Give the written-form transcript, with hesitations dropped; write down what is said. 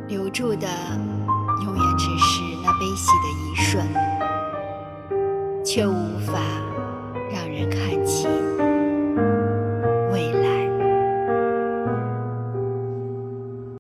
留住的永远只是那悲喜的一瞬，却无法让人看清。